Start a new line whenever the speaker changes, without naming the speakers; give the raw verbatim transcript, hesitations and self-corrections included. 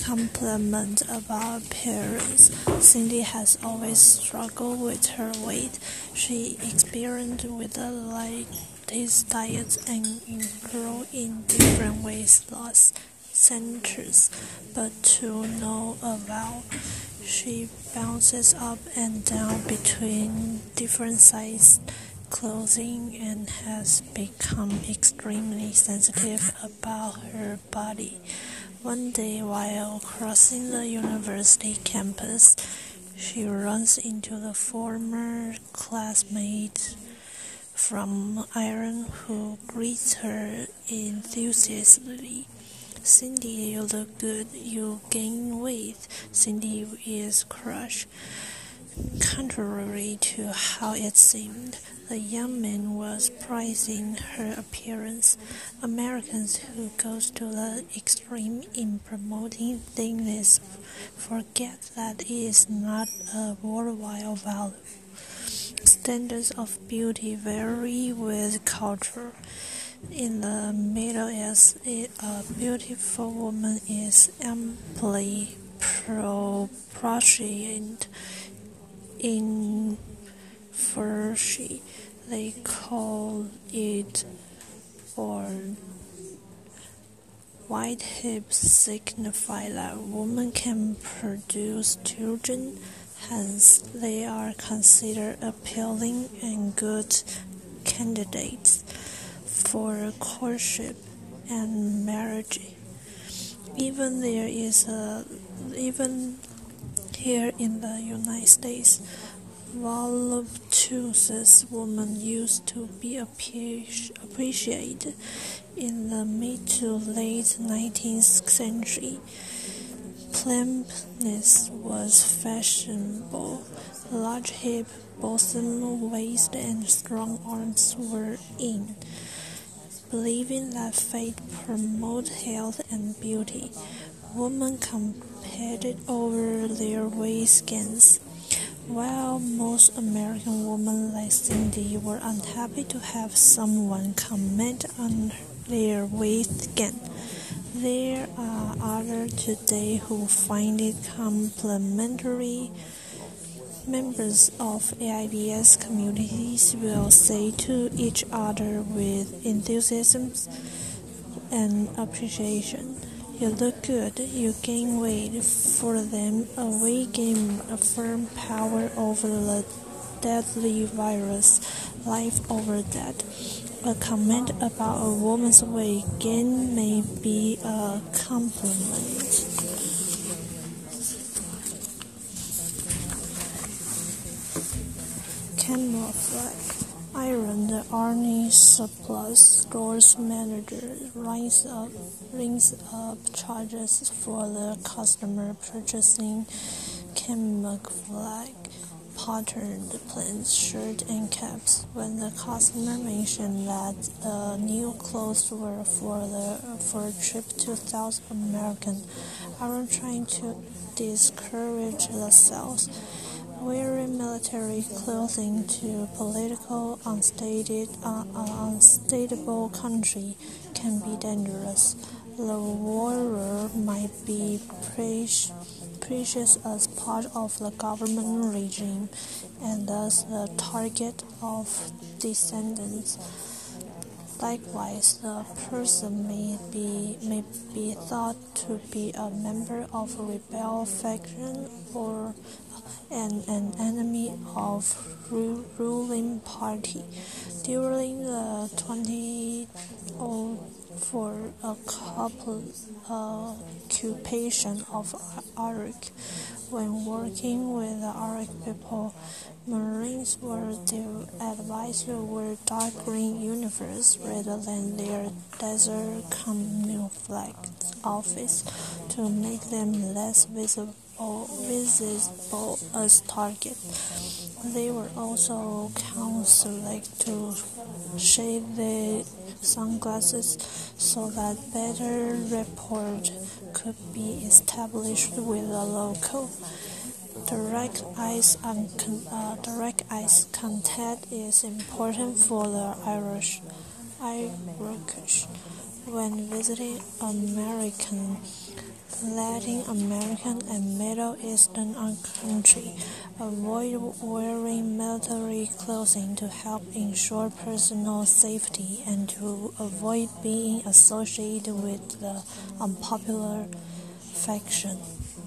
compliment about appearance. Cindy has always struggled with her weight. She experimented with the latest diets and grew in different weight loss centers, but to no avail. She bounces up and down between different size clothing and has become extremely sensitive about her body. One day, while crossing the university campus, she runs into the former classmate from Iran who greets her enthusiastically. "Cindy, you look good. You gain weight." Cindy is crushed. Contrary to how it seemed, the young man was praising her appearance. Americans who go to the extreme in promoting thinness forget that it is not a worldwide value. Standards of beauty vary with culture. In the Middle East, a beautiful woman is amply proportioned. In Farsi, they call it or wide hips signify that women can produce children, hence they are considered appealing and good candidates for courtship and marriage. Even there is a even here in the United States, voluptuous women used to be appreciated. In the mid to late nineteenth century, plumpness was fashionable. Large hip, bosom waist, and strong arms were in. Believing that faith promoted health and beauty, women competed over their waist gains. While most American women like Cindy were unhappy to have someone comment on their waist gain, there are others today who find it complimentary. Members of A I B S communities will say to each other with enthusiasm and appreciation, "You look good, you gain weight." For them, a weight gain affirms power over the deadly virus, life over death. A comment about a woman's weight gain may be a compliment. Camouflage. Iran, the Army surplus stores manager, rings up, rings up charges for the customer purchasing camouflage patterned pants, shirts, and caps. When the customer mentioned that the new clothes were for the for a trip to South America, Iran trying to discourage the sales. Wearing military clothing to political unstated, uh, uh, unstable country can be dangerous. The wearer might be precious as part of the government regime and thus the target of dissidents. Likewise, the person may be may be thought to be a member of a rebel faction or an, an enemy of ru- ruling party. During the twenty oh four a couple uh, occupation of Iraq, when working with the Iraq people, Marines were their advisor wear dark green uniforms rather than their desert camouflage outfits to make them less visible visible as targets. They were also counseled to shade their sunglasses so that better rapport could be established with the local. Direct eye uh, direct eye contact is important for the Irish Irish when visiting American Latin American and Middle Eastern countries avoid wearing military clothing to help ensure personal safety and to avoid being associated with the unpopular faction.